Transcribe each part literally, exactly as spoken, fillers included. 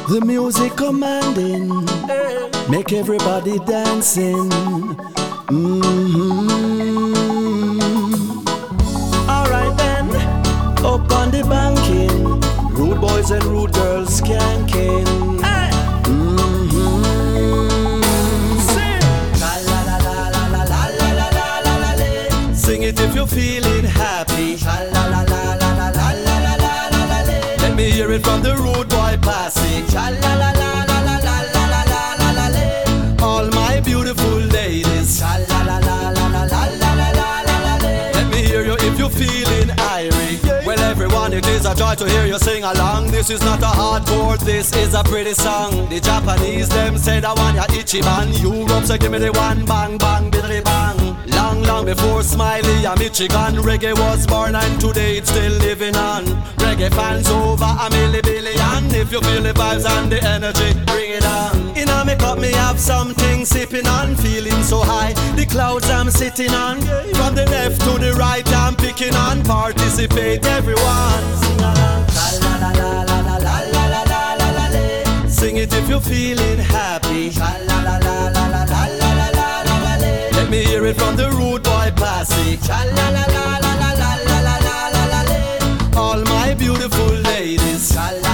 The music commanding, make everybody dancing. Mm-hmm. Alright then, up on the banking, rude boys and rude girls skanking. Mm-hmm. Sing. Sing it if you're feeling happy. Let me hear it from the rude boy posse. All my beautiful ladies. Let me hear you if you're feeling irie. Well, everyone, it is a joy to hear you sing along. This is not a hardcore, this is a pretty song. The Japanese, them said I want ya Ichiban. Europe say give me the one bang bang biddly bang. Long, long before Smiley and Michigan, reggae was born and today it's still living on. Reggae fans over a milli billion. If you feel the vibes and the energy, bring it on. In a make up me have something sipping on. Feeling so high, the clouds I'm sitting on. From the left to the right I'm picking on. Participate everyone. Sing along. Sing it if you're feeling happy. Let me hear it from the rude boy posse. All my beautiful ladies.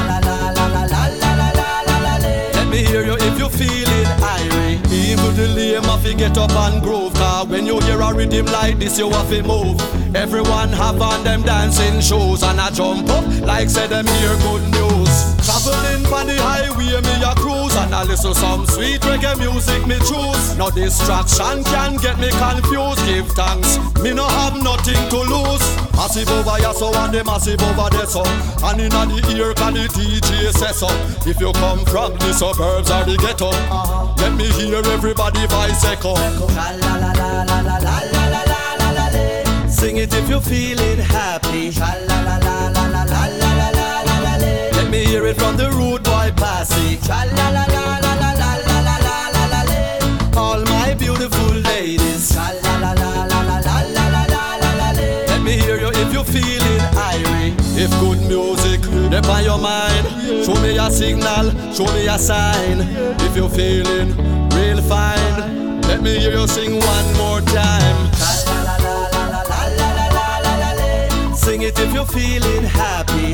Let me hear you if you're feeling irie. Even the lame have to get up and groove. Cause when you hear a rhythm like this you have to move. Everyone have on them dancing shoes. And I jump up like say them hear good news. Traveling on the highway me a cruise. And I listen some sweet reggae music me choose. No distraction can get me confused. Give thanks, me no have nothing to lose. Massive over here so and the massive over there so. And in the ear can the D J say so. If you come from the suburbs or the ghetto, uh-huh. Let me hear everybody voice echo. Sing it if you're feeling happy. Let me hear it from the rude boy posse. All my beautiful ladies. Let me hear you if you're feeling irie. If good music up on your mind, show me a signal, show me a sign. If you're feeling real fine, let me hear you sing one more time. Sing it if you're feeling happy.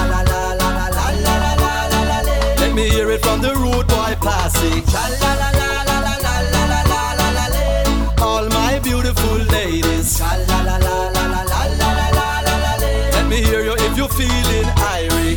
Let me hear it from the rude boy posse. All my beautiful ladies. Let me hear you if you're feeling irie.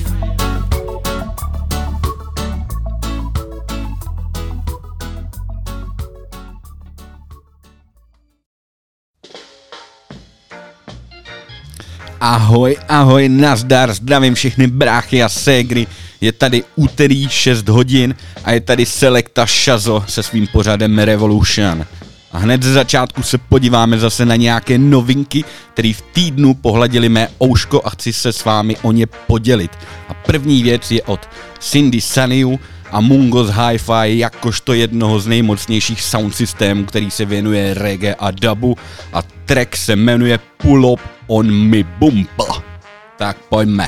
Ahoj, ahoj, nazdar, zdravím všechny bráchy a ségry. Je tady úterý šest hodin a je tady Selekta Shazo se svým pořadem Revolution. A hned ze začátku se podíváme zase na nějaké novinky, které v týdnu pohladily mé ouško a chci se s vámi o ně podělit. A první věc je od Cindy Saniu a Mungos Hi-Fi jakožto jednoho z nejmocnějších sound systémů, který se věnuje reggae a dubu, a track se jmenuje Pull Up on Me Bumper. Tak pojďme.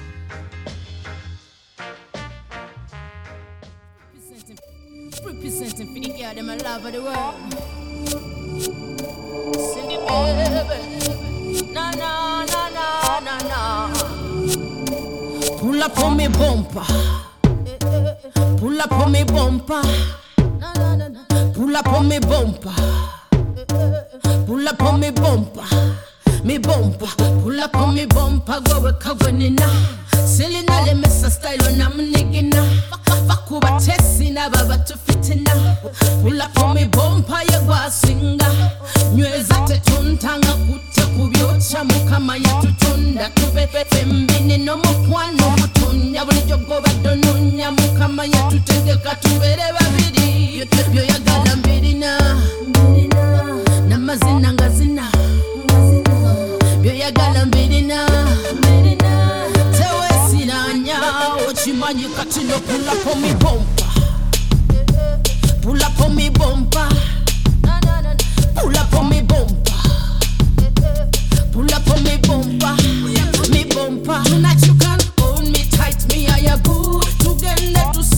Pull up on me bumper. Pull up on me bumper. Pull up on me bumper. Pull up on me bumper. Me bumper. Pull up on me bumper. Go we kawanina. Selina le mesa style on am nigina. Bakuba tesina baba to fitina. Pull up on me bumper ya gwa singa. Nyweza tetuntanga kute kubyocha mukama ya tutunda. Tubepe fembini no mukwano mutunya. Bulijo goba donunya mukama ya tutengeka tubere babiri. Byo ya gala mbirina. Na mazina ngazina. Byo ya gala mbirina. Tewe sinanya. Ochimanyi katino pull up on me bumper. Pull up on me bumper. Pull up on me bumper. Pull up on me bumper. Me bumper. Tonight you can hold me tight. Me I a good. Together to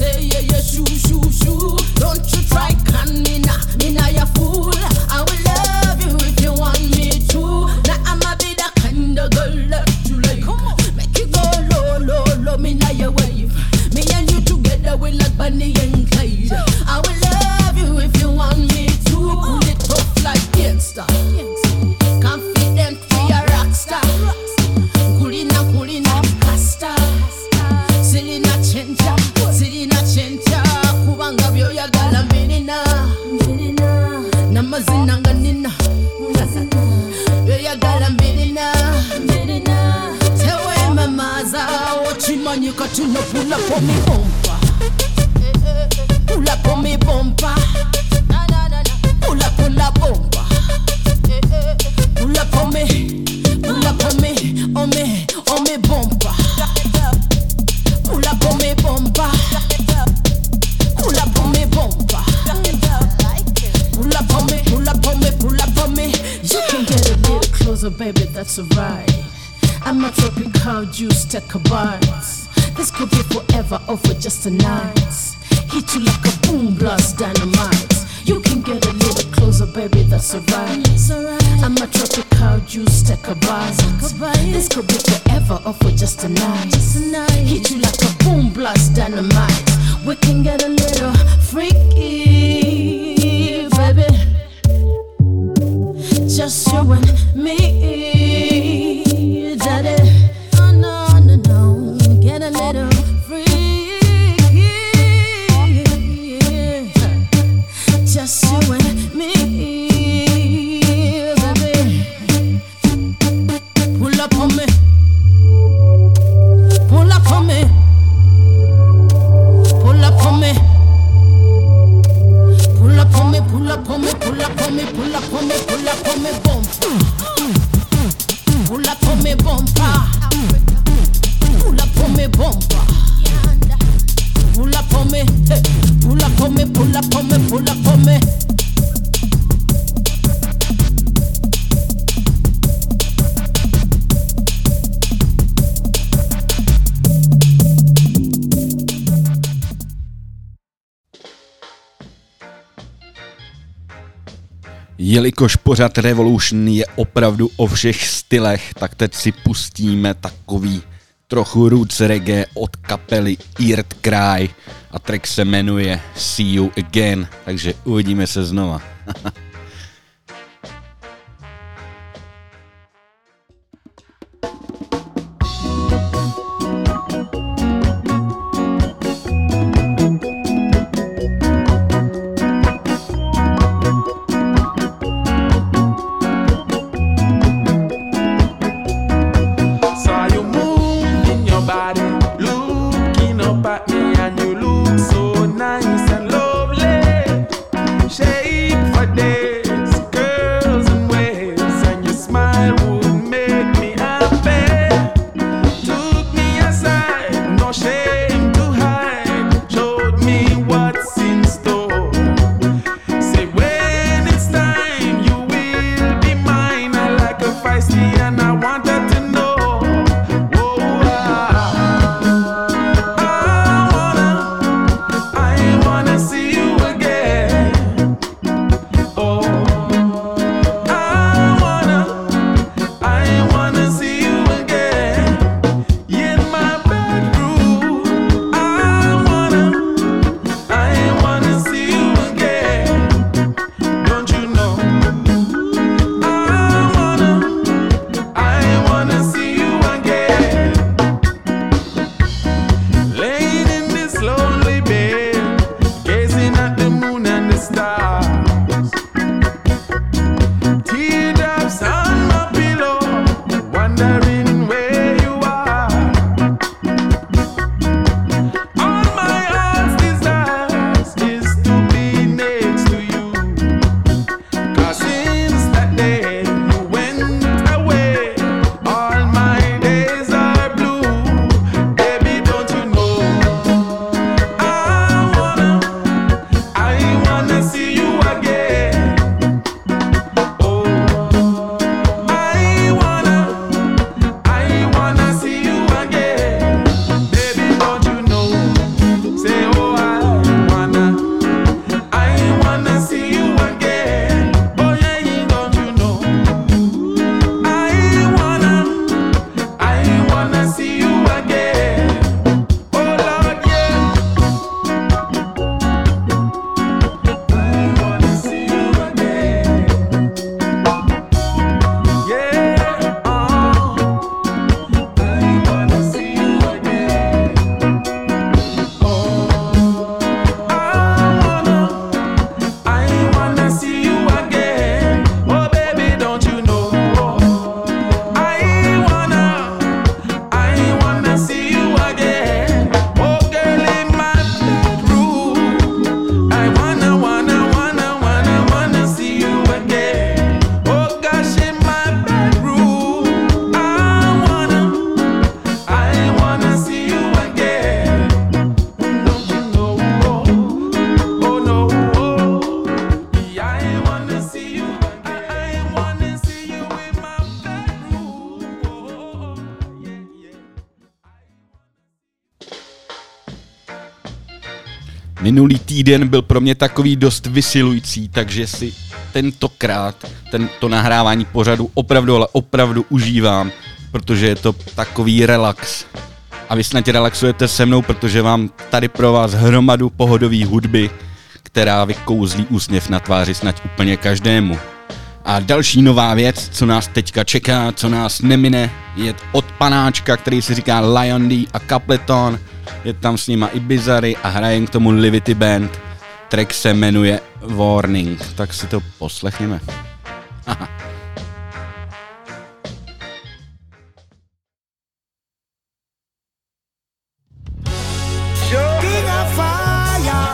man, you got to know, pull up on me bumper. Pull up on me bumper. Pull up, pull up bumper. Pull up on me, pull up on me, on me, on me bumper. Pull up on me bumper. Pull up on me bumper. Pull up on me, pull up on me, pull up on me. You can get a little closer, baby, that's alright. I'm a tropical juice, take a bite. This could be forever or for just a night. Hit you like a boom blast dynamite. You can get a little closer, baby, that's alright. I'm a tropical juice, take a bite. This could be forever or for just a night. Hit you like a boom blast dynamite. We can get a little freaky, baby. Just you and me, daddy. Oh no, no, no. Get a little freaky. Just you and me, baby. Pull up on me. Pull up on me. Pull up on me. Pull up on me, pull up on me, pull up on me, pull up on me, pull up on me, bumper. Pull up on me, bumper. Pull up on me, bumper. Pull up on me, hey. Pull up on me, pull up on me, pull up on me. Jelikož pořad Revolution je opravdu o všech stylech, tak teď si pustíme takový trochu roots reggae od kapely Earth Cry a track se jmenuje See You Again, takže uvidíme se znova. Day Minulý týden byl pro mě takový dost vysilující, takže si tentokrát tento nahrávání pořadu opravdu, ale opravdu užívám, protože je to takový relax. A vy snad relaxujete se mnou, protože mám tady pro vás hromadu pohodové hudby, která vykouzlí úsměv na tváři snad úplně každému. A další nová věc, co nás teďka čeká, co nás nemine, je od panáčka, který si říká Lion D a Capleton. Je tam s nima i Bizarry a hraje k tomu Livity Band. Track se jmenuje Warning, tak si to poslechněme. Haha. King of fire,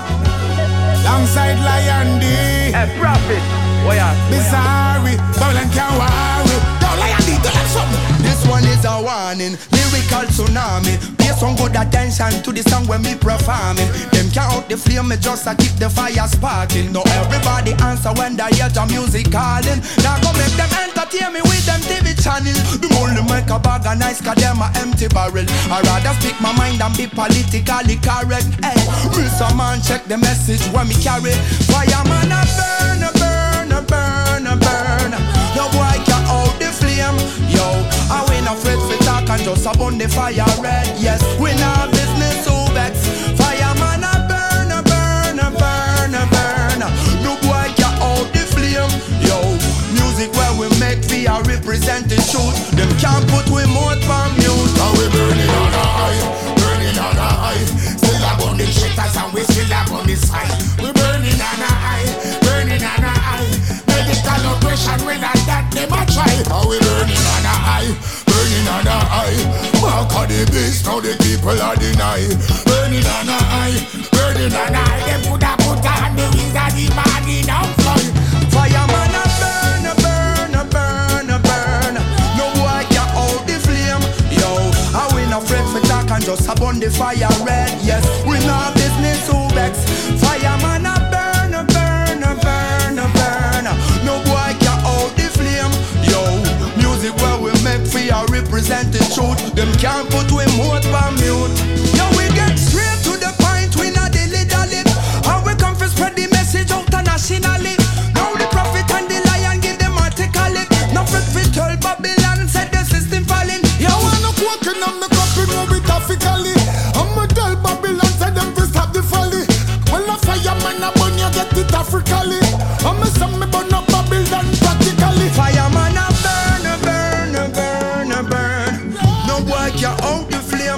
alongside Lion D. Hey, Prophet, what ya? Bizarre, Babylon can't worry. Now Lion D, do that something. This one is a warning, lyrical tsunami. Pay some good attention to the song when me performing. Them can't out the flame, me just a keep the fire sparking. Now everybody answer when they hear the music calling. Now go make them entertain me with them T V channel. The only make a bag of nice cause them a empty barrel. I rather speak my mind and be politically correct. Hey, Mister Man check the message when me carry. Fireman a burn, a burn, a burn, a burn. No boy can out the flame. Yo, I win a fret for talk and just a burn the fire red. Yes, we not business who vex. Fireman a burn, a burn, a burn, a burn. No boy can out the flame. Yo, music where we make fear represent the truth. Them can't put we mouth on mute. Now we burning on the high, burning on the high. Still up on the shitters and we still up on the side. We burning on the high, burning on the high. Medical operation when I that them a try. Now we burning on the high, burning on the high. Mark of the beast, now the people are deny. Burning on the high, burning on the high. Them put a put on the wings of the body now fly. Fireman a burn, a burn, a burn, a burn. No boy can out the flame. Yo, I win a fret for talk and just a burn the fire red. Yes, we not business who vex. Fireman a burn, a burn, a burn, a burn. No boy can out the flame. Yo, music where we make fear represent the truth. Them can't put we mouth on mute. Yo, we get straight to the point. We not dilly dally. And we come to spread the message out nationally. Now the prophet and the lion give them article. No fit fit tell Babylon said the system falling. You wanna walking on the copy move it graphically. I'ma tell Babylon say them to stop the folly. Well a fireman a burn you get it Africally. I'ma say me burn up Babylon practically. Fireman a burn, a burn, a burn, a burn. No boy can out the flame.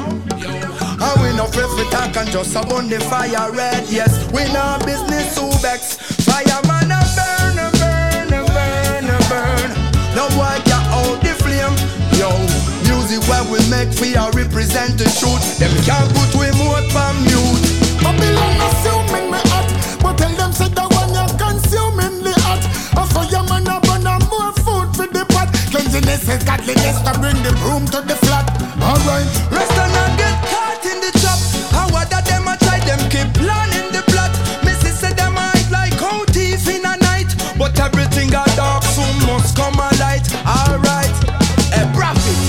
And we no afraid for talk and just a burn the fire red. Yes, we no business who vex. Fireman a burn, a burn, a burn, a burn. No boy can out the flame. Yo, music where we make fear represent the truth. Them can't put we mouth on mute. Babylon assuming me hot, but tell them say that one you're consuming the hot. A fireman a burn and more food for the pot. Cleanliness is godliness to bring the broom to the flat. Alright, Rest and not get caught in the trap. How what that them a try, them keep planning the plot. Missy said them hide like how thief in a night. But everything got dark soon must come a light. Alright, a prophet.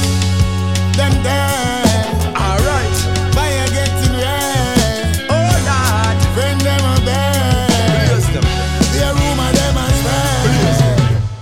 them there. Alright, Buy a getting red. oh Lord. Bring them a bed. Praise them. Their room a them a spread.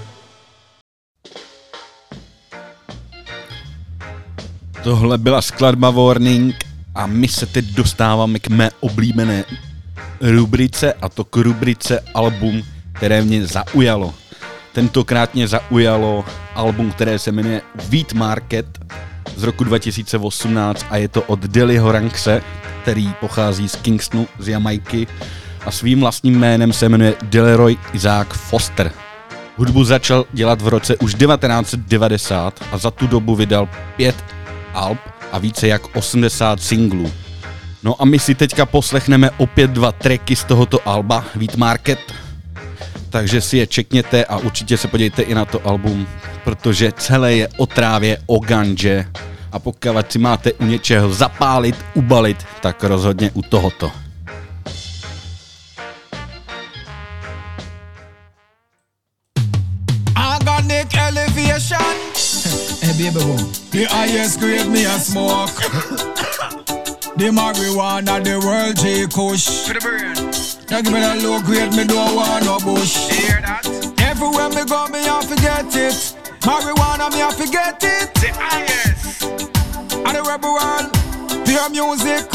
Tohle byla skladba Warning a my se teď dostáváme k mé oblíbené rubrice, a to k rubrice album, které mě zaujalo. Tentokrát mě zaujalo album, které se jmenuje Wheat Market z roku dva tisíce osmnáct a je to od Deliho Rankse, který pochází z Kingstonu, z Jamajky a svým vlastním jménem se jmenuje Delroy Isaac Foster. Hudbu začal dělat v roce už devatenáct set devadesát a za tu dobu vydal pět alb a více jak osmdesát singlů. No a my si teďka poslechneme opět dva tracky z tohoto alba Wheat Market, takže si je čekněte a určitě se podívejte i na to album, protože celé je o trávě, o ganže a pokud si máte u něčeho zapálit, ubalit, tak rozhodně u tohoto. Organic elevation. Hey baby boom. The highest grade me a smoke. The marijuana, the world J Kush. For the brain. Now give me that low grade, me don't want no bush. You hear that? Everywhere me go, me I forget it. Marijuana, me I forget it. The highest. And the rebel world, pure music.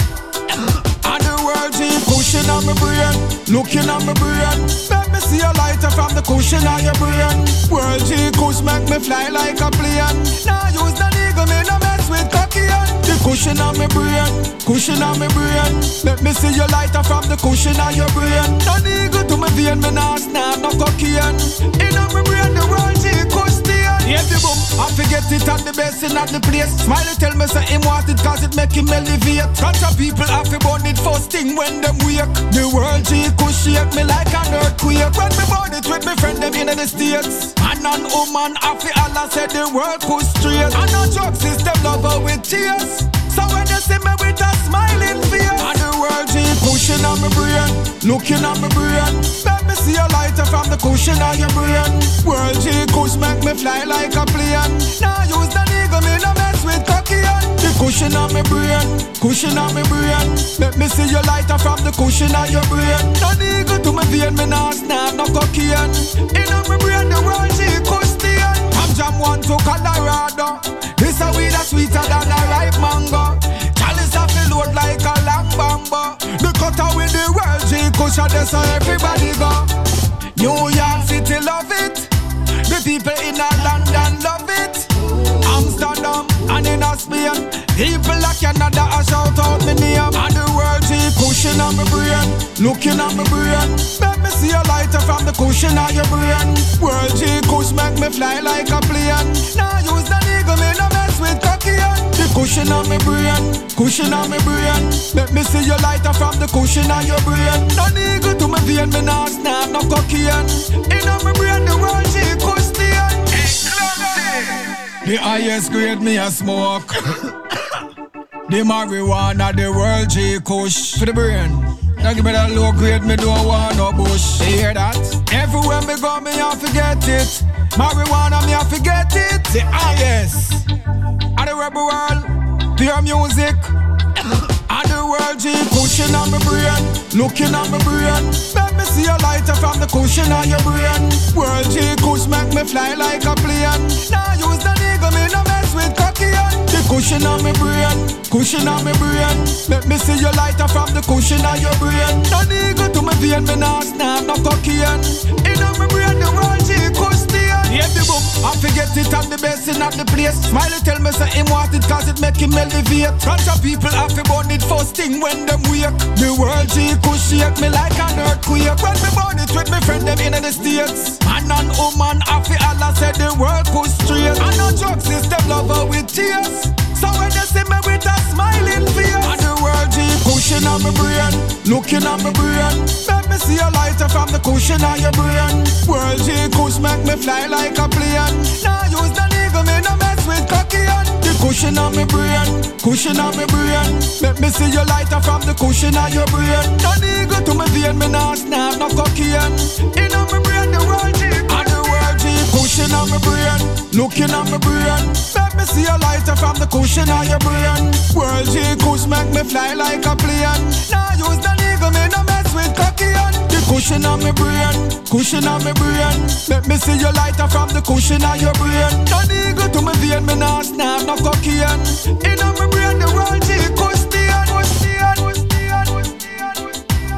And the world G pushing on my brain, looking on my brain. Let me see a lighter from the cushion on your brain. World G kush make me fly like a plane. Now use the eagle, me no mess with cocky. The cushion on my brain, cushion on my brain. Let me see your lighter from the cushion on your brain. No eagle to my vein, me nah snap no cocaine. In on my brain, the world G kush stay. Yeah, the boom, I forget it at the best in at the place. Smiley tell me say him want it cause it make him elevate. Bunch of people have to burn it first thing when them wake. The world G could shake me like an earthquake. When me burn it with me friend them in the States. Man and woman have to Allah said the world could straight. And no drug system lover with tears. So when they see me with a smiling face. And the world G pushing on my brain, looking on my brain. Let me see a lighter from the cushion on your brain. World G kush make me fly like a plane. Now use the eagle, me no mess with cocaine. The cushion on my brain, cushion on my brain. Let me see your lighter from the cushion on your brain. No eagle to my vein, me nah snap no cocaine. In on my brain, the world G kush stay. From Jam one to Colorado. This a weed that's sweeter than a ripe mango. Chalice a fill load like a long bamba. The cutter with the world G kush a there so everybody go. New York City love it. The people in a London love it. Amsterdam and in a Spain. People like Canada a shout out me name. And the world G cushion on my brain, looking on my brain. Let me see a lighter from the cushion on your brain. World G kush make me fly like a plane. Now use the eagle, me no mess with cocaine. The cushion on my brain, cushion on my brain. Let me see your lighter from the cushion on your brain. No eagle to my vein, me nah snap no cocaine. In on my brain, the world G kush stay. The highest grade me a smoke. The marijuana, the world J Kush. For the brain. Now give me that low grade, me don't want no bush. You hear that? Everywhere me go, me I forget it. Marijuana, me I forget it. The highest. And the rebel world, pure music. And the world G cushion on my brain, looking on my brain. Let me see a lighter from the cushion on your brain. World G kush make me fly like a plane. Now use the eagle, me no mess with cocaine. The cushion on my brain, cushion on my brain. Let me see your lighter from the cushion on your brain. No eagle to my vein, me nah snap no cocaine. In on my brain, the world G kush stay. Yeah, the boom, I forget it at the best in at the place. Smiley tell me say him want it cause it make him elevate. Bunch of people have to burn it first thing when them wake. The world G kush shake me like an earthquake. When me burn it with me friend them in the States. Man and woman have to Allah said the world kush straight. And no drug system lover with tears. So when they see me with a smiling face. And the world G cushion on my brain, looking on my brain. Let me see a lighter from the cushion on your brain. World G kush make me fly like a plane. Now use the eagle, me no mess with cocaine. The cushion on my brain, cushion on my brain. Let me see your lighter from the cushion on your brain. No eagle to my vein, me nah snap no cocaine. In on my brain, the world G. And the world G cushion on my brain, looking on my brain. Let me see a lighter from the cushion on your brain. World G kush make me fly like a plane. Now use the eagle, me no mess with cocaine. The cushion on my brain, cushion on my brain. Let me see your lighter from the cushion on your brain. No eagle to my vein, me nah snap no cocaine. In on my brain, the world G kush stay, kush stay, kush stay, kush stay, kush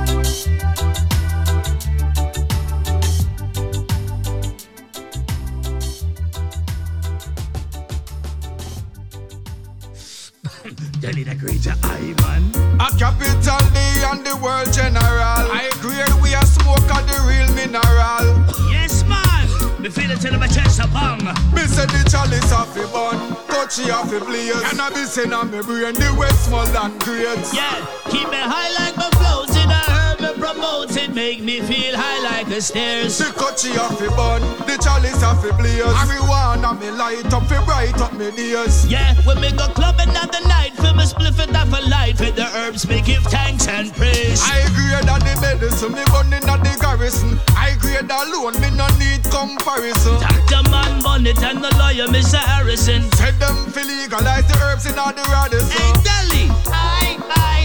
stay. Delhi the greater Ivan. A capital D and the world general. I agree we are smoke of the real mineral. Yes man, me feel it till my chest a bang. Me say the chalice off the bun, touchy off the blaze. Cannabis in a me brain, the Westmoreland grades. Yeah, keep me high like my floating. I heard me promoting, make me feel high like the stairs. The touchy off the bun, the chalice off the blaze. Marijuana me light up, fi bright up me days. Yeah, when me go clubbing at the night, feel me spliff it off a light. With the herbs me give thanks and praise. I agree that the medicine me burning at the garrison. I agree that alone me no need comparison. Doctor Man Bonnet and the lawyer Mister Harrison said them fi legalize the herbs in all the Radisson. Hey Delhi, I, I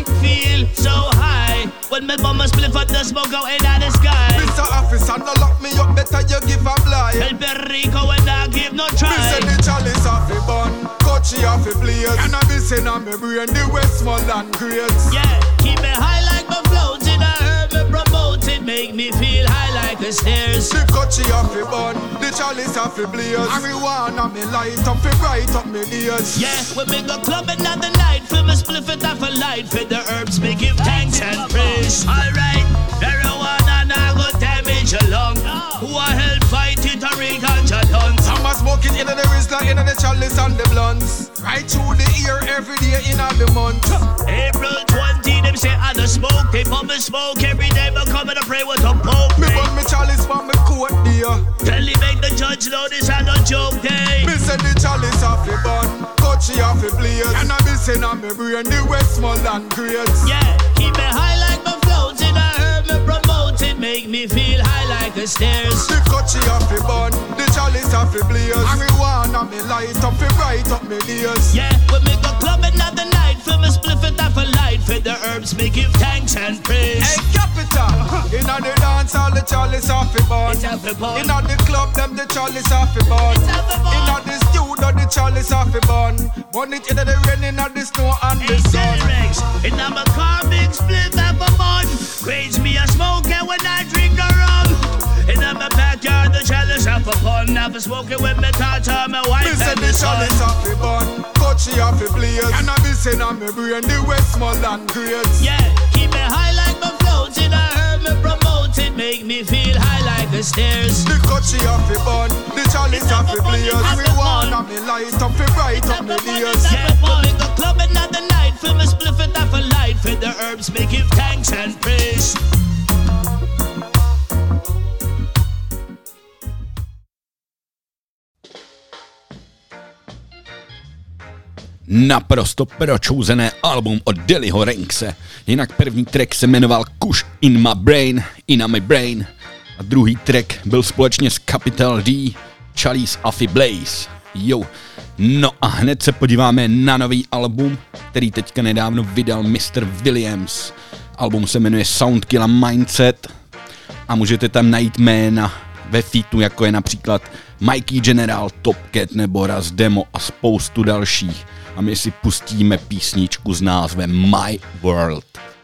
when me bum a split for the smoke out in the sky. Mister Officer, no lock me up, better you give a blind. Help Rico when I give no try. Me say the chalice off the bun, coachy off the blaze. Cannabis in on me brain, the Westmoreland grades. Yeah, keep me high like my floating. I heard me promote it, make me feel high like the stairs. The coachy off the bun, the chalice off the blaze. Marijuana me light up, it bright up me ears. Yeah, when me go clubbing at the night, feel me spliff it off a light. For the herbs, me give thanks and praise. Alright, marijuana now go damage your lung. Who a help fight it or ring out your lungs. Some a smoke it in the wrist, in the chalice and the blunts. Right through the ear every day in all the month. April twentieth, them say I don't smoke. They pump me smoke every day, but come and pray with a poke. Me burn me chalice for me coat dear. Tell him make the judge know this I no joke day. Me send the chalice off the bun, coachy off the blaze. Cannabis in on me brain, the Westmoreland grades. Yeah, keep me high like my floating. I heard me promote it, make me feel high like the stairs. The coachy off the bun, the chalice off the blaze. Marijuana me light up, it bright up me ears. Yeah, when me go clubbing at the night, feel me spliff it off a light. For the herbs, me give thanks and praise. Hey, capital, inna the dance, all the chalice off the bun. It's off the bun. Inna the club, them the chalice off the bun. It's off the bun. Inna the studio, the chalice off the bun. Burn it inna the rain, inna the snow and the Hey, sun. Rex, inna my car, big split off a bun. Grades me a smoking when I drink a rum. Inna my backyard, the chalice off a pun. Have a smoking with me daughter, my wife Me say and the the son. chalice off the bun, coachy off the blaze. Cannabis in on me brain, the Westmoreland grades. Yeah, keep me high like my floating. I heard me promote it, make me feel high like the stairs. The coachy off the bun, the chalice off the blaze. Marijuana me light up, it bright up me ears. Yeah, when we go clubbing at the night, feel me spliff it off a light. For the herbs, me give thanks and praise. Naprosto pročouzené album od Deliho Rankse. Jinak první track se jmenoval Kush in my brain, in my brain. A druhý track byl společně s Capital D, Chalice Affy Blaze. Jo. No a hned se podíváme na nový album, který teďka nedávno vydal mister Williams. Album se jmenuje Soundkiller Mindset a můžete tam najít jména ve featu, jako je například Mikey General, Top Cat nebo Raz Demo a spoustu dalších. A my si pustíme písničku s názvem My World.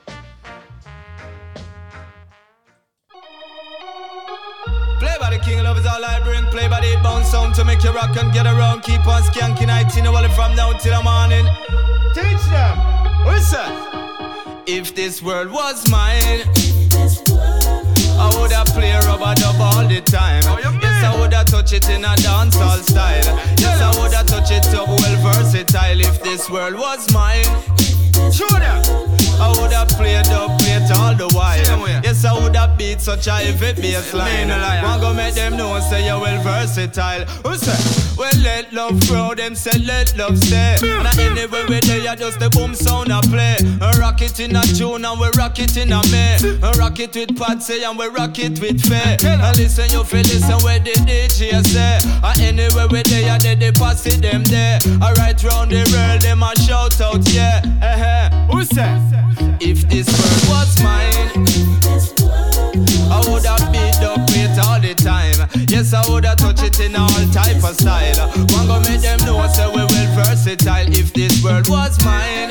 Play by the king, love is all I bring. Play by the bounce sound to make you rock and get around. Keep on skanking, I you know, from now till the morning. Teach them, what's that? If this world was mine, I woulda play rubber dub all the time. Yes, I woulda touch it in a dancehall style. Yes, I woulda touch it up well versatile. If this world was mine, sure I woulda play dub, play it all the while. Yes, I woulda beat such a heavy bass line. Want go make them know say you're well versatile. Who say? Well, let love grow, them say let love stay. And anywhere we there, you just the boom sound I play. And rock it in a June and we rock it in a May. And rock it with Patsy and we rock it with Faye. And listen, you feel listen where the D J say. And anywhere we there, you they pass it them there. And right round the world, them a shout out, yeah. Uh-huh. Who say? If this world was mine, I woulda beat up it all the time. Yes, I woulda touch it in all type of style. One go make them know say we well versatile. If this world was mine,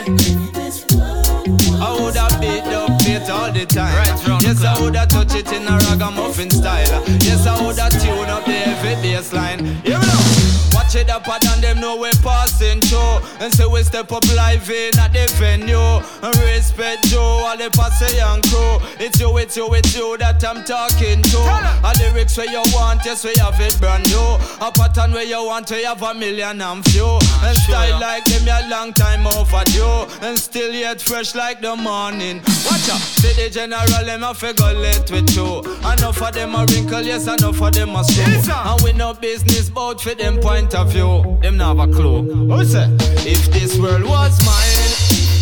I woulda beat up it all the time. Right, yes, I woulda touch it in a ragamuffin style. Yes, I woulda tune up the heavy bass line. Here we go. Watch it up and them know we're passing through. And so we step up live in at the venue. And respect you, all the passe and crew. It's you, it's you, it's you that I'm talking to. A lyrics where you want, yes, we have it brand new. A pattern where you want, we have a million and few. And style like them, a long time overdue. And still yet fresh like the morning. Watch out, see the general, them a figure late with you. Enough of them a wrinkle, yes, enough of them a screw. And we no business bout for them point of view. Them not have a clue. Who say? If this world was mine,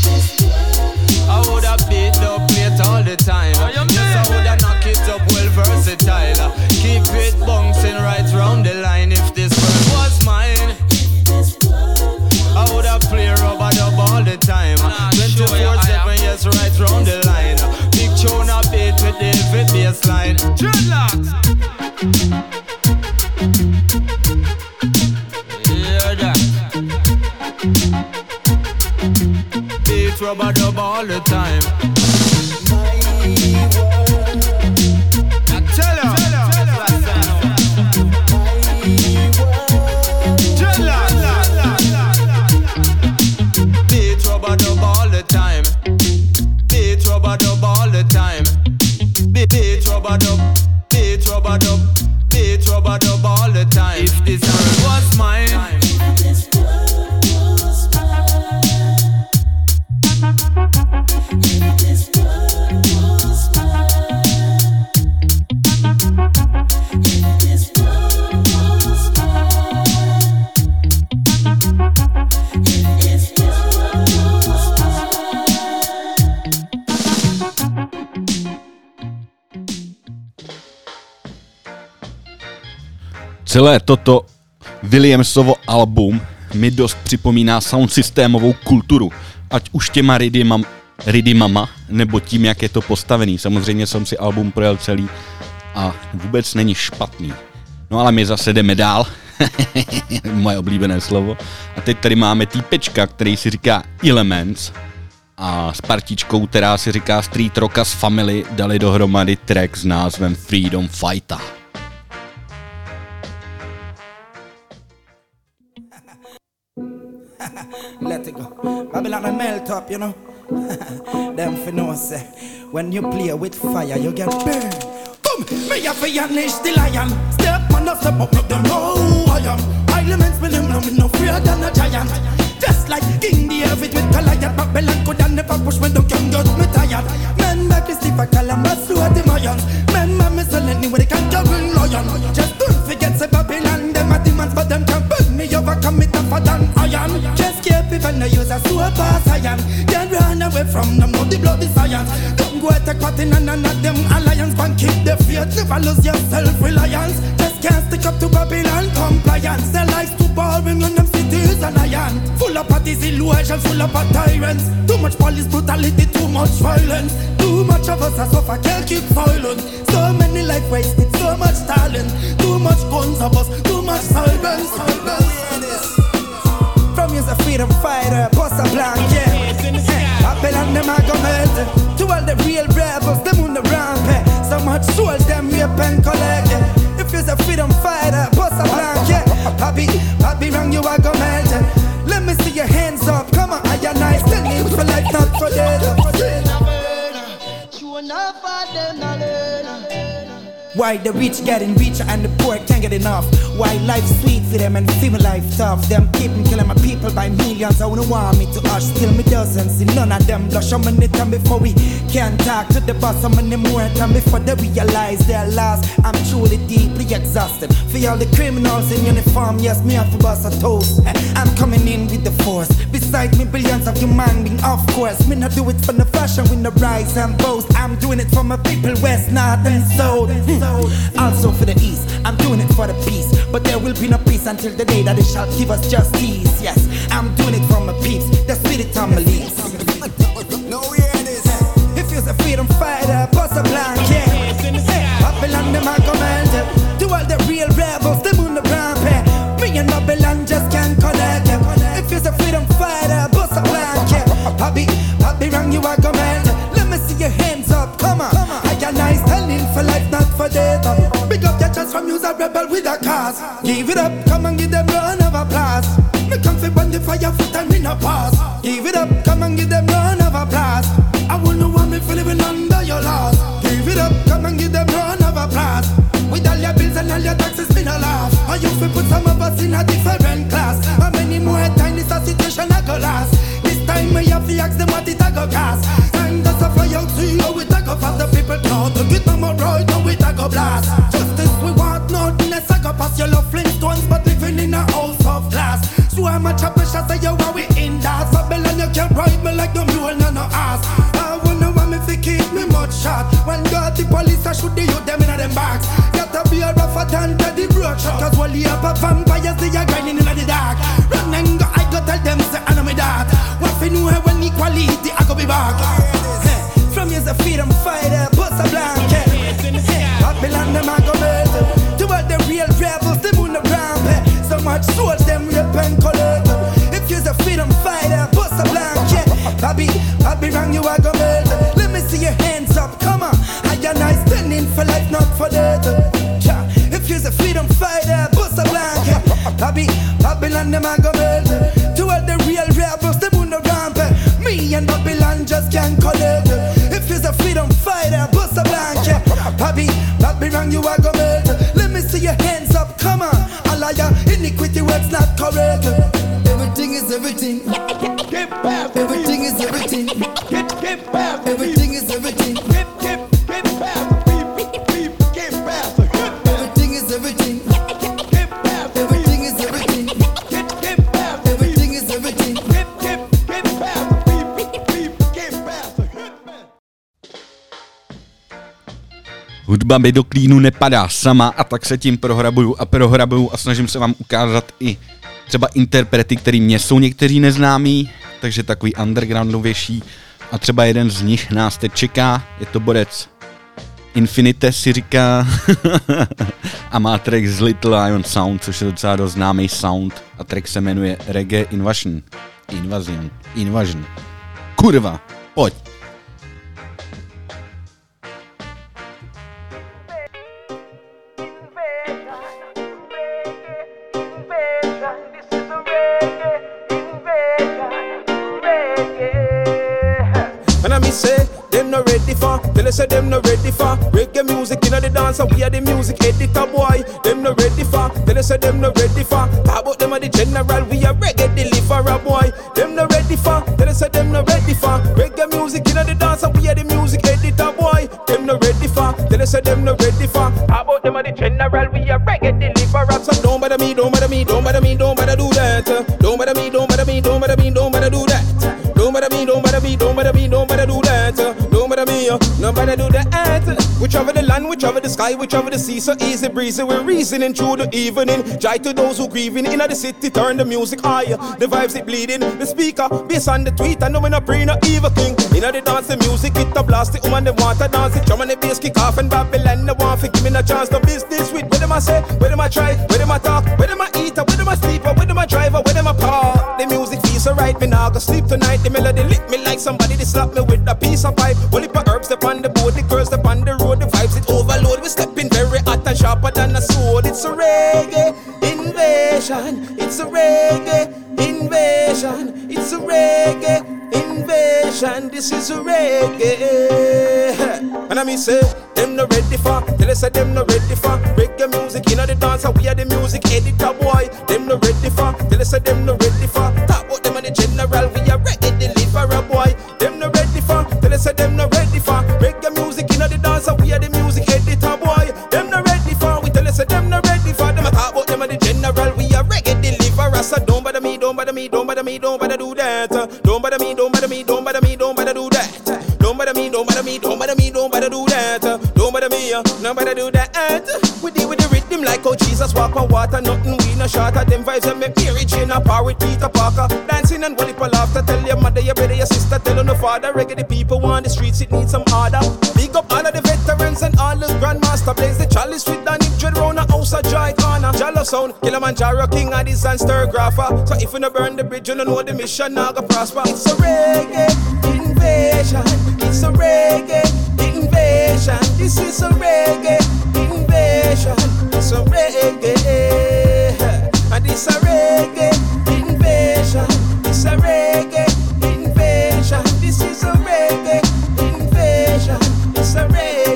I woulda beat up plate all the time. Yes, I woulda knock it up well versatile. Keep it bouncing right round the line. If this world was mine, I woulda play rubber dub all the time. twenty-four seven, yes, right round the line. Big tune Alright, dreadlocks. Hear that? Beat rubber dub all the time. Now tell her. Beat rubber dub all the time. Beat rubber dub all the time. Beat rubber dub, beat rubber dub, beat rubber dub all the time. If this world was mine, if this world was mine, if this world was mine, if this world was mine, if this world was Celé toto Williamsovo album mi dost připomíná sound systémovou kulturu, ať už těma rydymama, rydymama, nebo tím, jak je to postavený. Samozřejmě jsem si album projel celý a vůbec není špatný. No ale my zase jdeme dál, moje oblíbené slovo. A teď tady máme týpečka, který si říká Elements a s partičkou, která si říká Street Rockaz Family, dali dohromady track s názvem Freedom Fighter. Let it go. Babylon and melt up, you know. Them for no say. When you play with fire, you get burned. Come, me a finish the lion. Step on the step up, no them know who I am. Elements with them, no me no fear than a giant. Just like King David with Goliath, Babylon could never push me, don't can get me tired. Men make me stiff a calamus, so at the Mayans. Men make me sell anywhere they can juggle lion. Just don't forget say Babylon, them are demons, but them can burn me overcome it tougher than iron. Just keep it when I use a super scion. Can't run away from them, no the bloody science. Don't go attack cotton and none of them alliance. But keep the faith, never lose your self-reliance. Just can't stick up to Babylon compliance. Their lives too boring when them cities and iron. Full of parties, illusion, full of tyrants. Too much police brutality, too much violence. Too much of us as I can't keep silent. So many life wasted, so much talent. Too much guns of us, too much silence. From you's a freedom fighter, boss a blanket. Babylon them a go melt. To all the real rebels, them on the rampant. So much soul, them rape and collect. If you's a freedom fighter, boss a blanket. Papi, papi wrong, you a go melt. Let me see your hands up, come on, I and I still live for life, not for death. Why the rich getting richer and the poor can't get enough? Why life sweet for them and feel life tough? Them keeping killing my people by millions. I wouldn't want me to hush, still me doesn't see none of them blush. How many time before we can't talk to the boss? How many more time before they realize they're lost? I'm truly deeply exhausted. For all the criminals in uniform, yes, me have to bust a toast. I'm coming in with the force. Beside me, billions of human beings, of course. Me not do it for the fashion, with the rise and boast. I'm doing it for my people, west, north and south. Hmm. Also for the east, I'm doing it for the peace. But there will be no peace until the day that they shall give us justice. Yes, I'm doing it for my peeps, the spirit on my lips. No, yeah, this. If you're a freedom fighter, boss a blanket. Babylon, them are commanded. To all the real rebels, them on the rampant. Me and Babylon just can't connect. If you're a freedom fighter, boss a blanket. Papi, papi, wrong, you are commanded. Let me see your hands up, come on. I can I standing for life, not for death. Big up your chest from you's a rebel with a cause. Give it up, come and give them run of applause. Me come fi burn the fire foot and me no pause. Give it up, come and give them run of applause. I wouldn't want me for living under your laws. Give it up, come and give them run of applause. With all your bills and all your taxes, me no laugh. I you fi put some of us in a different class. How many more times this a situation a go last? This time me have to ask them what it a go cost. Time to suffer you see how it a go fast. The people can't to get no more right, now it a go blast. Justice we want, nothing less a go pass. You love Flintstones but living in a house of glass. So I'm a chopper shot say you are we in that. Babylon you can't ride me like the mule no no ass. I wonder why me fi keep me much shot. When got the police I shoot the youth them in a them box. Got to be a rougher than the broad shot. Cause while you up a vampires they are grinding in the dark. Run and go I go tell them say I know me that. What fi know when equality I go be back. From you's a freedom fighter, bust a blanket. Bobby, Bobby wrong, you are gonna melt. Let me see your hands up, come on. I and I standing for life, not for death. Yeah. If you're a freedom fighter, bust a blanket. Bobby, Babylon, them are gonna melt. To all the real rebels, them on the ramp. Me and Babylon just can't collect. If you're a freedom fighter, bust a blanket. Bobby, Bobby wrong, you are gonna melt. Let me see your hands up, come on. A liar, iniquity words not correct. Everything is everything. Everything is everything. Everything is everything. Everything is everything. Everything is everything. Everything is everything. Hudba mi do klínu nepadá sama a tak se tím prohrabuju a prohrabuju a snažím se vám ukázat i třeba interprety, který mě jsou někteří neznámí, takže takový undergroundovější a třeba jeden z nich nás teď čeká, je to borec Infinite si říká a má track z Little Iron Sound, což je docela dost známý sound a track se jmenuje Reggae Invasion. Invasion. Invasion. Kurva, pojď. Say them not ready for, tell us say them not ready for reggae music inna the dance and we are the music editor boy. Them not ready for, tell us say them not ready for. Talk about them are the general, we are reggae deliverer boy. Them not ready for, tell us say them not ready for reggae music inna the dance and we are the music editor boy. Them not ready for, tell us say them not ready for. Talk about them are the general, we are reggae deliverer. So don't bother me, don't bother me, don't bother me, don't bother do that. Don't bother me, don't bother me, don't bother me, don't bother do that. Don't bother me, don't bother me, don't bother me, don't bother do that. Don't bother me, nobody do that. Whichever the land, whichever the sky, whichever the sea, so easy breezy. We're reasoning through the evening. Joy to those who grieving in the city, turn the music higher. The vibes it bleeding. The speaker, bass on the tweet, I know when I pray no evil king. In the dance, the music, it a blast. The woman, they want to dance it. Drum and the bass kick off and Babylon, they want to give me a chance to business with. Where them I say, where them I try, where them I talk, where them I eat, where them I sleep, where them I drive, where them I park. The music feels so right, me now go sleep tonight. The melody lick me like somebody, they slap me with a piece of pipe. Well, if herbs up on the board, the girls up on the road, the vibes it overload. We stepping very hot and sharper than a sword. It's a reggae invasion. It's a reggae invasion. It's a reggae invasion. This is a reggae. And I mean say, them no ready for. Tell us that them no ready for reggae music. You know the dance, we are the music editor boy. Them no ready for. Tell us that them no ready for. Talk about them and the general, we are reggae deliverer boy. Them no ready for. Tell us that them no ready for reggae music. You know the dance, we are the music editor boy. Them no ready for. We tell us that them no ready for. Them a talk about them and the general, we are reggae deliverer. So don't bother me, don't bother me, don't bother me, don't bother do that. Don't bother me, don't bother me, don't bother me, don't bother do that. Don't bother me, don't bother me, don't bother me, don't bother do that. Don't bother me, nobody do that. We deal with the rhythm like how Jesus walk on water. Nothing we no short of them vibes and make Mary Jane a par with Peter Parker. Dancing and wallop a laughter. Tell your mother, your brother, your sister, tell on the father. Reggae the people want the streets, it needs some order. Big up all of the veterans and all the grandmaster. Blaze the chalice with Danny Dread round a house of joy corner. Jalo sound, Kilimanjaro king of the Zanster grapher. So if you no burn the bridge, you don't know the mission now go prosper. It's a reggae invasion. It's a reggae invasion. This is a reggae invasion. It's a reggae. And it's a reggae invasion. It's a reggae invasion. This is a reggae invasion. It's a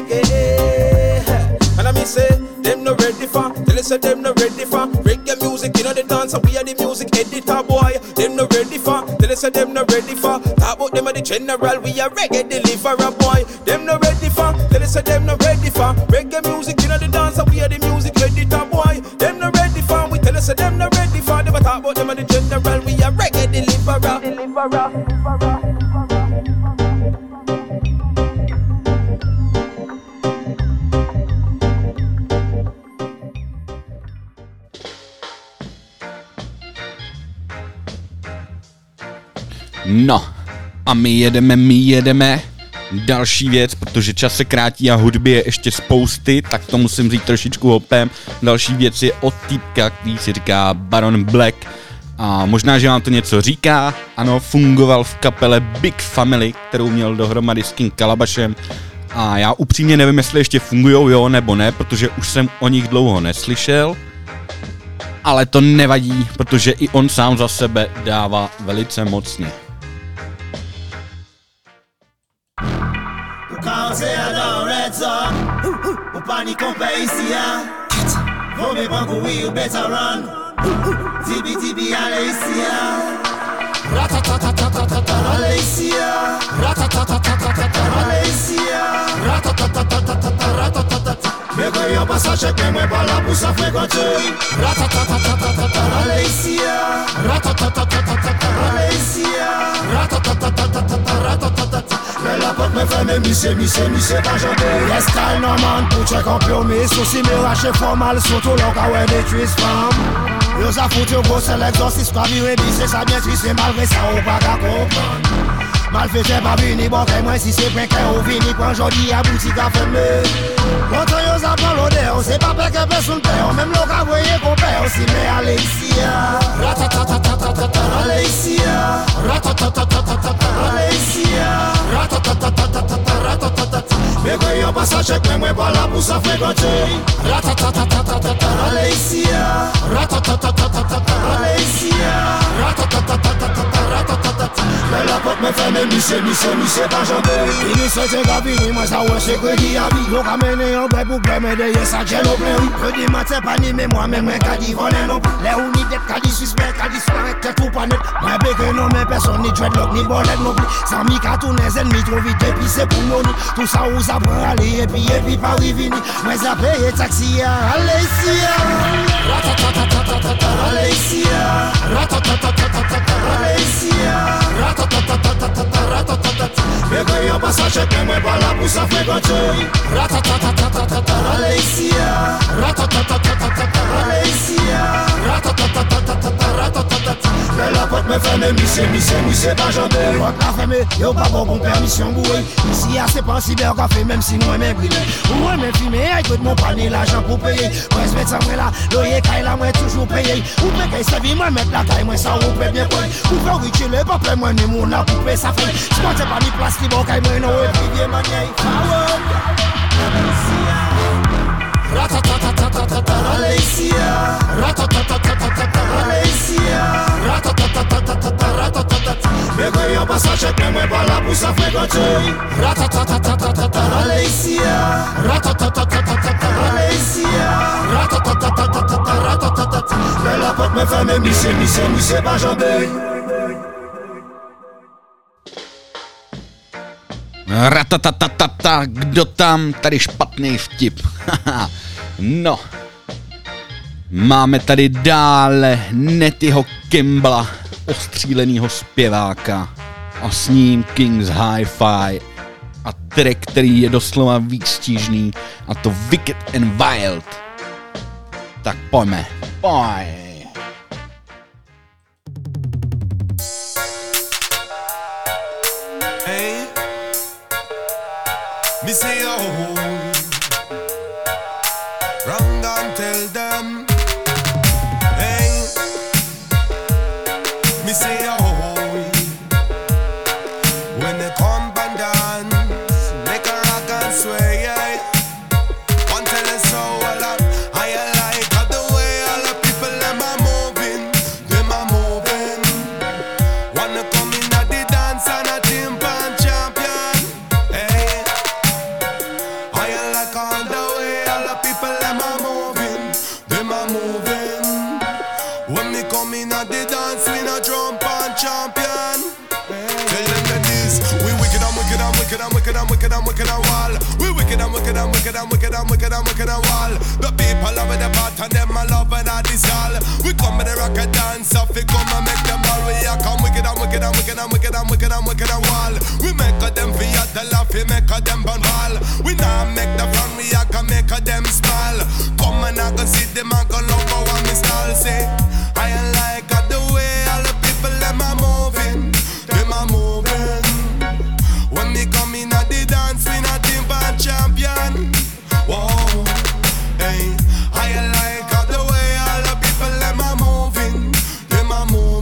reggae. And I mean say, them no ready for. Tell us say them no ready for reggae music. You know the dance and we are the music editor boy. Them no ready for. Tell us say them no ready for. Talk about them and the general, we are reggae deliverer boy. Them no ready for. Tell us say them no ready for reggae music. You know the dance and we are the music editor boy. Them no ready for. We tell us say them no ready for. Them a talk about them and the general, we are reggae deliverer. Deliverer. Deliverer. No, a my jedeme, my jedeme. Další věc, protože čas se krátí a hudby je ještě spousty, tak to musím říct trošičku hopem. Další věc je od týpka, který si říká Baron Black A možná, že vám to něco říká. Ano, fungoval v kapele Big Family, kterou měl dohromady s King Kalabašem. A já upřímně nevím, jestli ještě fungujou, jo nebo ne, protože už jsem o nich dlouho neslyšel. Ale to nevadí, protože i on sám za sebe dává velice mocně. Mwen yon passage ke mwen pa la pou sa frekante. Ratatatatata Malaysia. Ratatatatata Malaysia. Ratatatatata Ratatatat. Mwen la pot mwen fè mè misè, misè, misè pa jante. Yes, kal norman pou chek an plomi. Souci mè rache formal, soto lò ka wè detris fam. Yo sa foute yo go selektor, si skwa vire bise, sa bien triste malgré sa ou pa ka kompran. Mal fete pa vini, bon kè mwen si se pren kè ou vini, pran jodi a boutik a fèmè. Kontan yo sa pran lode, ou se pa pe ke pe soun pe, ou mèm lo ka voye kon pe, ou si mè ale isi ya. Ratatatatata ale isi ya. Ratatatatata ale isi ya. Ratatatatata ratatatat. Mè kwen yo pa sa chek mè mwen pa la pou sa frekante. Ratatatatata ale isi ya. Ratatatatata ale isi ya. Ratatatatata ratatatat. Mè la pot mè fè mè misè, misè, misè pa jante. Ini se te gavini, mwen sa wè se kredi avi. Yo ka mène yon bre pou bre mè deye sa djen ou plen. Kredi matè pa ni mè mwen mè mwen ka di volen non. Le ou ni det ka di suspect, ka di sparek te tou pa net. Mwen beke non mè person ni dreadlock ni bolet non pli. San mi ka tou nez enmi tro vite epi se pou noni. Tout sa ou sa pran ale epi epi pa rivini. Mwen sa peye taksi ya, ale isi ya. Ratatatatata ale isi ya. Ratatatatata ale isi ya. Ratatatatata ratatatat. Mwen yon pa sa chek mwen pa la pou sa frekante. Ratatatatata ale isi ya. Ratatatatata ale isi ya. Ratatatatata ratatatat. Mwen la pot mwen fè mè misè, misè, misè pa jante. Wak la fè mè, yo pa bon kon permisyon boué. Isi ya se pan siber ka fè mèm si mwen mè brile. Ou mwen mè fime, ay kout mwen pani l'ajan pou peye. Mwen se met sa mwen la, loye kay la mwen toujou peye. Ou mwen kay se vi mwen met la kay mwen sa ou pe bien kwen. Ou fè riche le pa ple mwen ni moun la pou pe sa fè. S'kwante pa ni plas li bon kay mwen nou e privye manyay. Ratatatatata Malaysia. Ratatatatata Malaysia. Ratatatatata ratatatat. Mè kwen yon pa sa chek mè mwen pa la pou sa frekante. Ratatatatata Malaysia. Ratatatatata Malaysia. Ratatatatata ratatatat. Mè la pot mè fè mè misè, misè, misè pa jante. Ratatatatata, kdo tam? Tady špatný vtip. No. Máme tady dále Nettyho Campbella, ostřílenýho zpěváka. A s ním King's Hi-Fi. A track, který je doslova výstižný. A to Wicked and Wild. Tak pojďme. Pojď. Me say oh, wrong and tell them. Hey, me say oh, when they come and dance, make a rock and sway. Yeah. One tell us so a lot. I like how the way all the people them are moving, them are moving. Wanna come in at the dance and a timpan champion. Hey. I like all the way all the people them are moving, them are moving. When me come in at the dance, we no jump on champion. Tell them that this, we wicked and wicked and wicked and wicked and wicked and wicked and wall. We wicked and wicked and wicked and wicked and wicked and wicked and wall. The people loving the part and them a loving all this all. We come with the rock and dance up, we come and make them all. We are come wicked and wicked and wicked and wicked and wicked and wicked and wall. We make a them feel the laugh, we make a them burn ball. We now make the fun, we are can make a them smile. Come and I can see them and go love how I'm style. Say, I like how the way all the people them are moving, them are moving. When me come in at the dance, we not team band champion. Whoa, hey, I like how the way all the people them are moving, them are moving.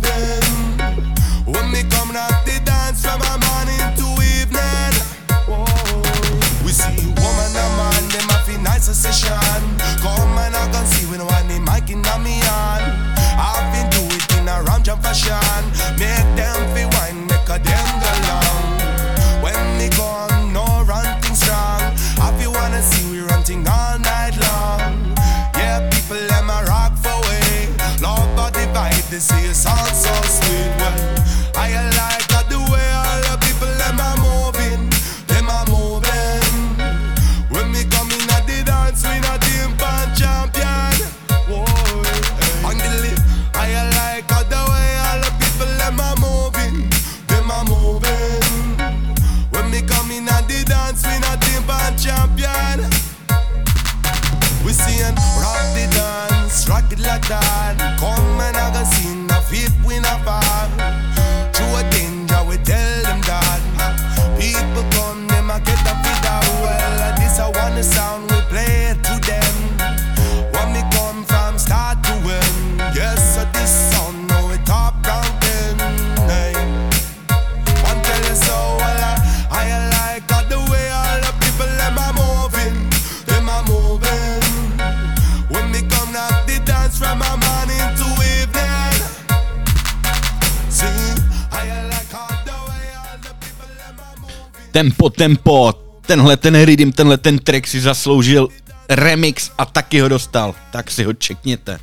Tempo, tempo, tenhle ten rhythm, tenhle ten track si zasloužil remix a taky ho dostal, tak si ho čekněte.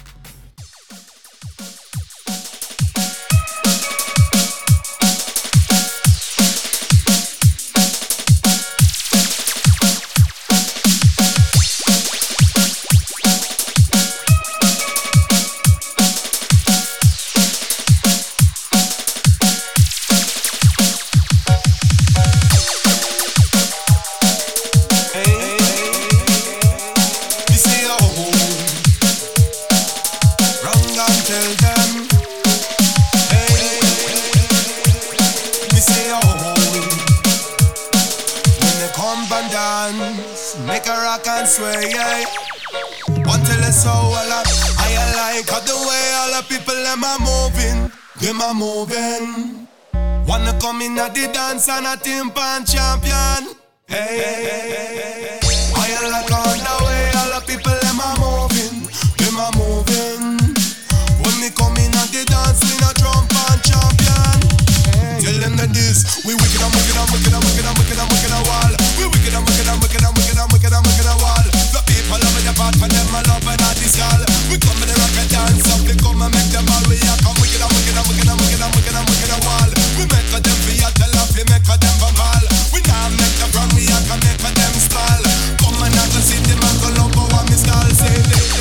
And a timpan champion. Hey, hey, hey, hey, hey. I like on the way all the people them a moving, them a moving. When me come in at the dance, we no timpan champion. Hey. Tell them that this, we wicked and wicked and wicked and wicked and wicked and wicked and wall. We wicked and wicked and wicked and wicked and wicked and wicked and wall. The people love the part for them, I love it at this call. We come in the rock and dance up, we come and make them all. We are come wicked and wicked and wicked and wicked and wicked and wicked and wall. We make them feel a tell up, we make them. We now make the wrong, we are gonna make them style. Come and I go see them and go love for what me style say.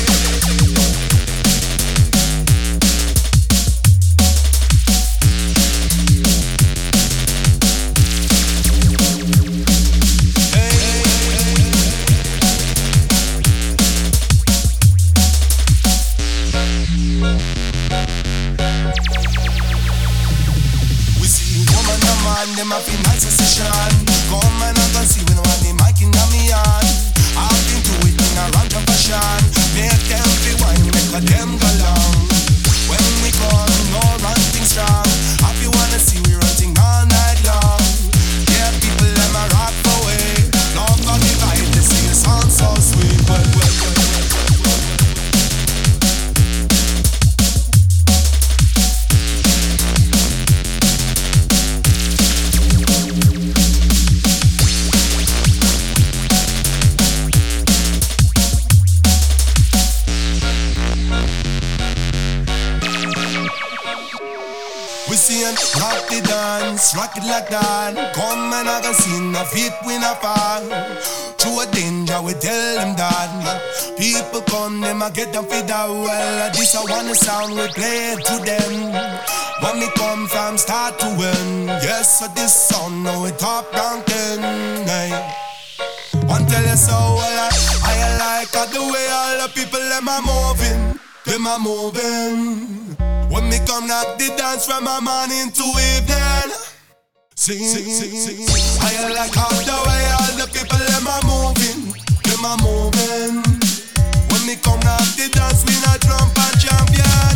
We see woman and man, them have been nice session. Come and I can see when one the mic in me on. I've been to it in a round of fashion. Make them feel wine, make a them go long. When we come, no run things strong. If you wanna see we running all night long. Yeah, people them a rock away. Love for the vibe, they sing a song so sweet. Well, well, well, well, well, well. Rock the dance, rock it like that. Come and I can see the feet we not fall. Through a danger, we tell them that. People come, them I get them feed out. Well, this I want the sound, we play it to them. When we come from start to end. Yes, so this song, now we top ranking. Hey. One tell you so, well, I, I like how the way all the people, them are moving. Them are moving. When me come knock the dance from a morning to evening. Sing, sing, sing, sing. I like how the way all the people them are moving, them are moving. When me come knock the dance, we not drum and champion.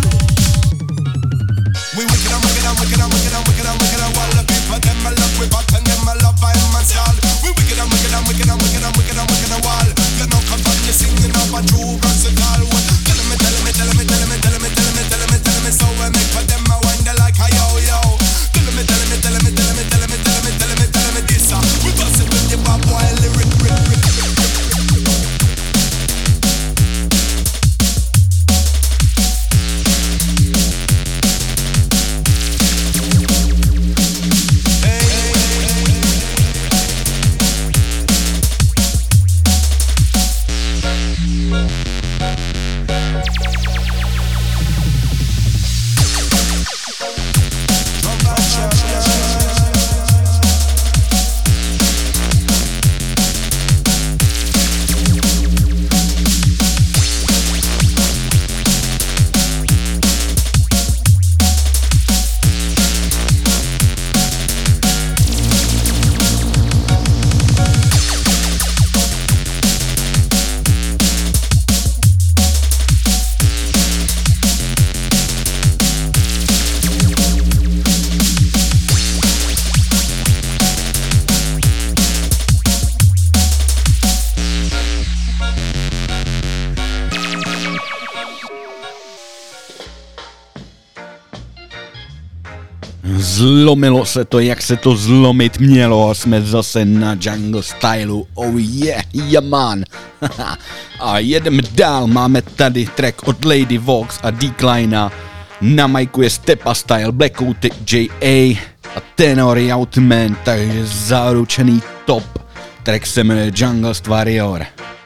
We wicked and wicked and wicked and wicked and wicked and wicked and all the people them I love we back and them I love I am style. We wicked and wicked and wicked and wicked and wicked and wicked and wall. You know come from you singing up a true versatile one. Tell me, tell me, tell me, tell me, tell me, tell me, tell me, tell me, so we make for them I wonder like a yo yo. Tell me, tell me, tell me, tell me, tell me, tell me, tell me, tell me this. We bust it with the bad boy lyric, rip, rip, rip, rip. Hey, hey, hey. zlomilo se to, jak se to zlomit mělo. Jsme zase na Jungle Stylu. Oh yeah, yeah man. A jedeme dál, máme tady track od Lady Vox a Declina. Na majku je Stepa Style, Blackoutek J A a Tenor Outman, takže zaručený top. Track se jmenuje Jungle Warrior.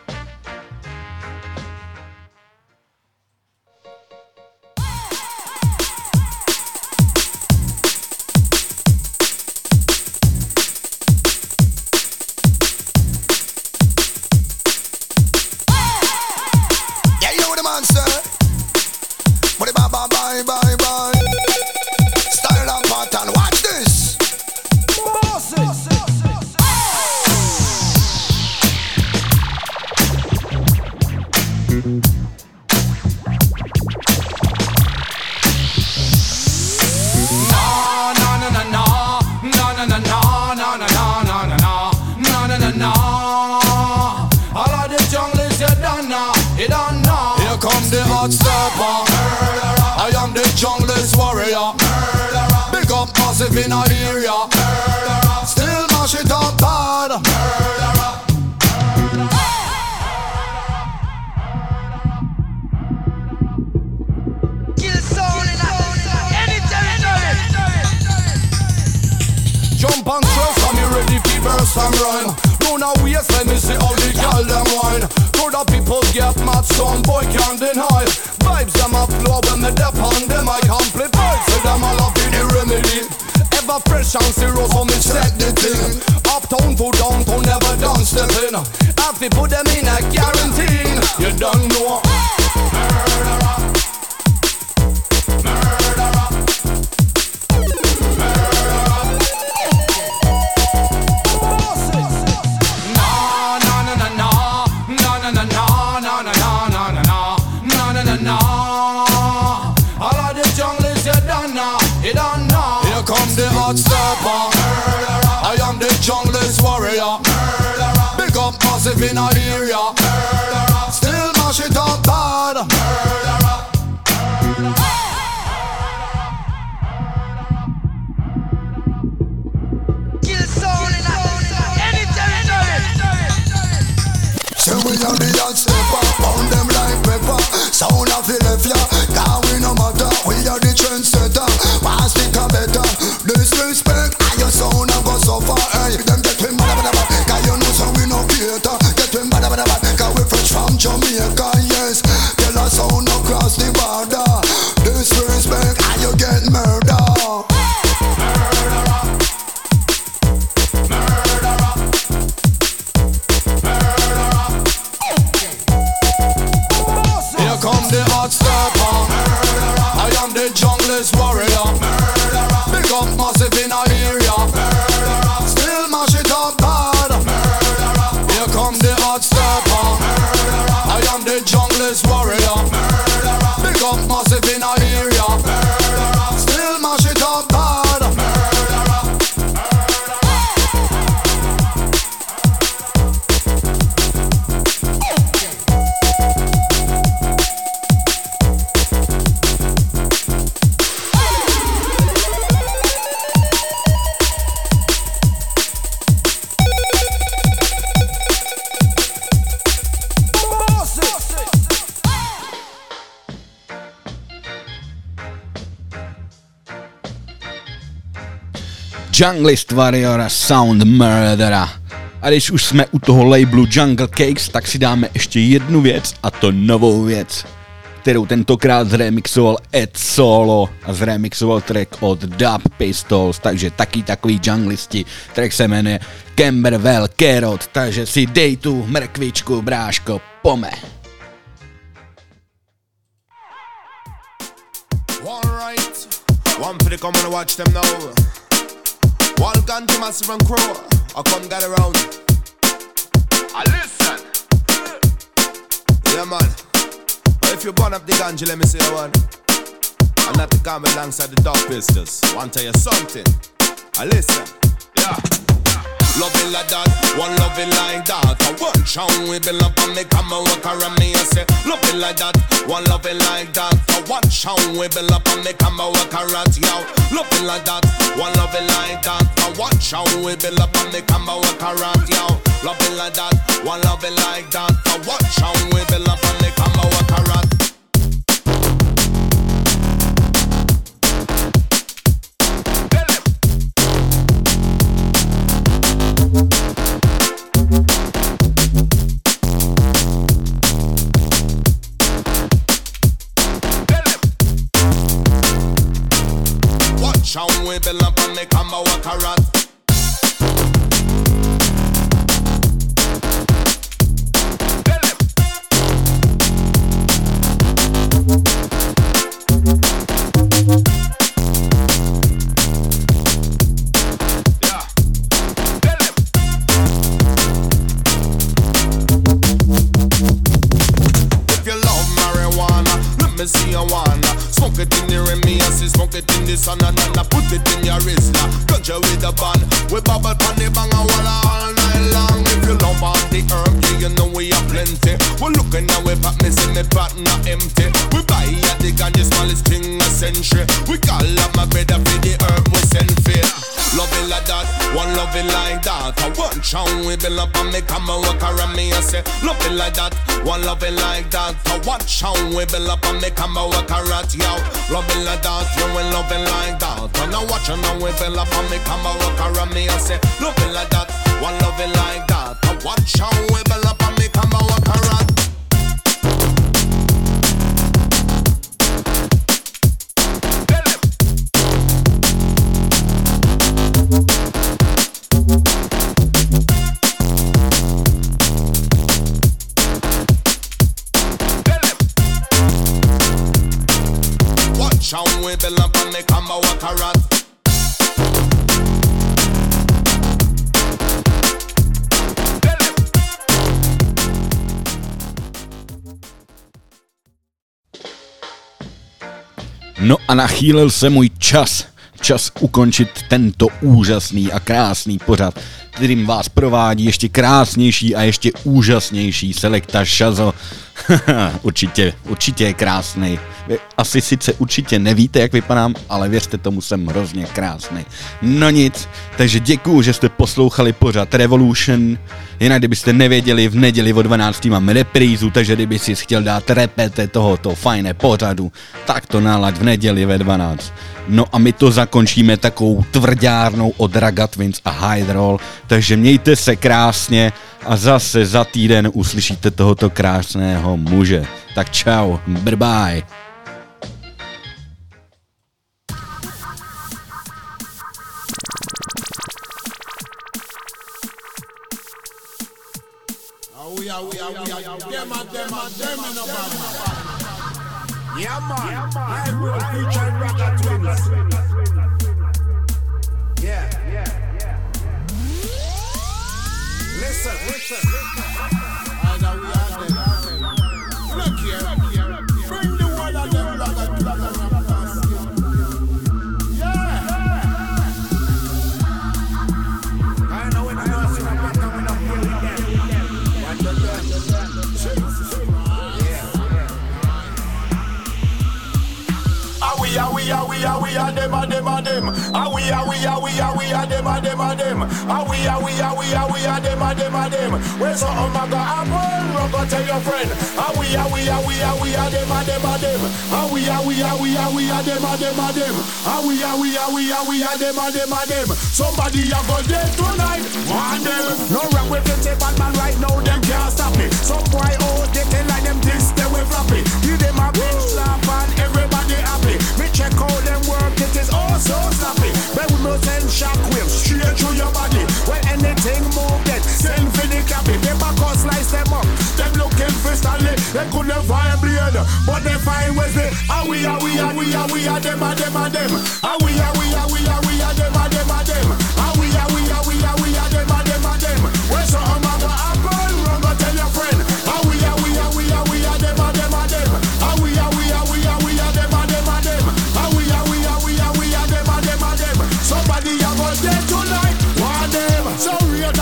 In our area, murderer. Still mash it up bad, murderer. Kill soul in any territory. Jump and trust, I'm ready to burst and run. Run away, let me see how the girl them wine. To the people get mad, son boy can't deny. Vibes them a flow when me dep on them. I amplify, so them all up in the remedy. Ever fresh and zero, so me check the thing. Uptown to downtown, never done stepping. Have to put them in a quarantine. You don't know. Murderer. Murderer. Murderer. No, no, no, no, no. No, no, no, no, no, no, no, no, no. No, no, no, no. All of the jungle is you don't know. You don't know. Come the hot stepper, murderer. I am the jungle's warrior, murderer. Big up massive in our area, murderer. Still mash it up bad, murderer. Kill soul in any territory. So we are the hot stepper, pound them like pepper. Sound of the left ya, now we no matter. We are the trendsetter, pass it a better. Disrespect, and your sound a go so far. Hey, them get him bada bada bada, cause you know so we no cater. Get him bada bada bada, cause we fresh from Jamaica, yes. Tell us sound across the border. Disrespect, and you get murder. Murderer. Murderer. Murderer. Here come the hot stepper, murderer. I am the jungle's warrior, murderer. Big up massive in our area, murderer. Still mash it up bad, murderer. Here come the hot stepper, murderer. I am the jungle's warrior, murderer. Big up massive in our area, murderer. Still mash it up bad, murderer. Junglist Warrior Sound Murderer. A když už jsme u toho labelu Jungle Cakes, tak si dáme ještě jednu věc, a to novou věc, kterou tentokrát zremixoval Ed Solo a zremixoval track od Dub Pistols, takže taky takový junglisti. Track se jmenuje Camberwell Carrot, takže si dej tu mrkvičku, bráško, pome. Alright, one for the come and watch them now. Welcome to Massive and Crow. I come get around. I listen. Yeah, man. If you burn up the ganja, let me say one. I'm not the come alongside the Dub Pistols. Want to tell you something? I listen. Yeah. Love it like that, one love it like that. I one show we build up and me come and walk around me and say, love it like that, one love it like that. I one show we build up and me come and walk around yo. Love it like that, one love it like that. I one show we build up and me come and walk around yo. Love it like that, one love it like that. I one show we build up and me come and walk around. Show we build up and they come and walk around. See you wanna smoke it in the Remy, I see smoke it in the sun and then I put it in your wrist. Ganja with the band, we bubble pan the bang and walla all night long. If you love all the herb, yeah, you know we have plenty. We're looking now, we pop me see me pot not empty. We buy at the ganja smallest thing a century. We call up my brother for the herb we send for. Love it like that, one love it like that. I one chow we build up and me come and walk around me and say, love it like that, one love it like that. I one chow we build up and me come and walk around yo. Love it like that, you will love it like that. And I watch and now we build up and me come and walk around me and say, love it like that, one love it like that. I one chow we build up and me come and walk around. Show we build up and me come and walk around. No a nachýlil se můj čas. Čas ukončit tento úžasný a krásný pořad, kterým vás provádí ještě krásnější a ještě úžasnější Selecta Shazo. určitě, určitě je krásnej. Vy asi sice určitě nevíte, jak vypadám, ale věřte tomu, jsem hrozně krásnej. No nic, takže děkuju, že jste poslouchali pořad Revolution. Jinak kdybyste nevěděli, v neděli o dvanácté mám reprízu, takže kdyby si chtěl dát repete tohoto fajné pořadu, tak to nalaď v neděli ve dvanáct. No a my to zakončíme takovou tvrdárnou od Raga Twins a Hydroll, takže mějte se krásně a zase za týden uslyšíte tohoto krásného muže. Tak čau, bye bye. Yeah man, I will feature Raga Twins. Yeah, yeah, yeah. Listen, listen, listen. I know we are them. Look here, bring the one of them Raga Twins. Yeah. I know when I know see my partner when I'm feeling them. Watch your turn. Jesus. Ah we ah we ah we ah we ah dem ah dem ah dem. Ah we ah we ah we ah we ah dem ah dem ah dem. Ah we ah we ah we ah we ah dem ah dem ah dem. Where's the omega apple? Run go tell your friend. Ah we ah we ah we ah we ah dem ah dem ah dem. Ah we ah we ah we ah we ah dem ah dem ah dem. Ah we ah we ah we ah we ah dem ah dem ah dem. Somebody a go dead tonight. Want them? No wrong with the bad man right now. Them can't stop me. Some boy oh they can like them this they will floppy. Give them a bitch slap and everybody happy. Me check out them work, it is all so snappy. But we must send shockwaves straight through your body. When anything move that, send for the copy. They back us slice them up. Them looking for Stanley, they couldn't find blade. But they find Wesley. Ah we ah we ah we ah we ah them ah them ah them. Ah we ah we ah we ah we ah them ah them ah them. Ah we ah we ah we ah we ah them ah them ah them. Where's the omega apple? Run go tell your friend. Ah we ah we ah we ah we ah them ah them ah them. Ah we ah we ah we ah we ah them ah them ah them. Ah we ah we ah we ah we ah them ah them ah them. Somebody a go dead tonight. Want them? So real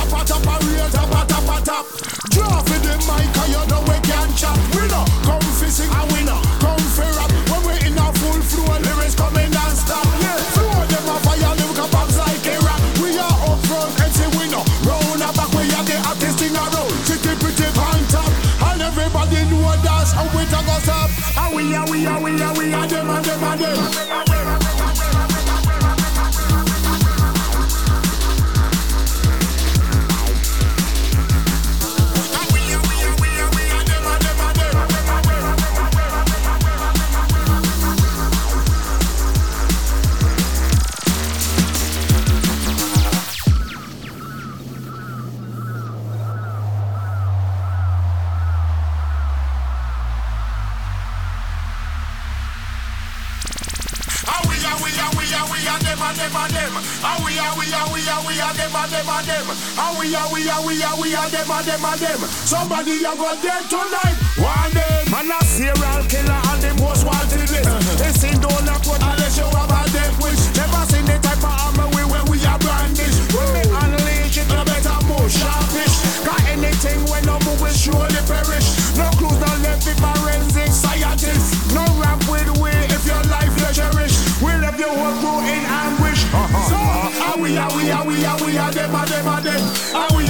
are them and them and them. Ah we are we are we are we are them and them and them. Ah we are we are we are we are them and them and them. Somebody a go dead tonight. One day, man a serial killer and the most wanted list. They sing down a quote unless you have a death wish. Never seen the type of armor we when we are brandish. When we unleash it, no better move sharpish. Got anything when no move will surely perish. No clues, no left with forensic scientists. No rap with we if your life you cherish. We left your whole crew in anguish. So, are we, are we, are we, are we, are them, are them, are them. Are we,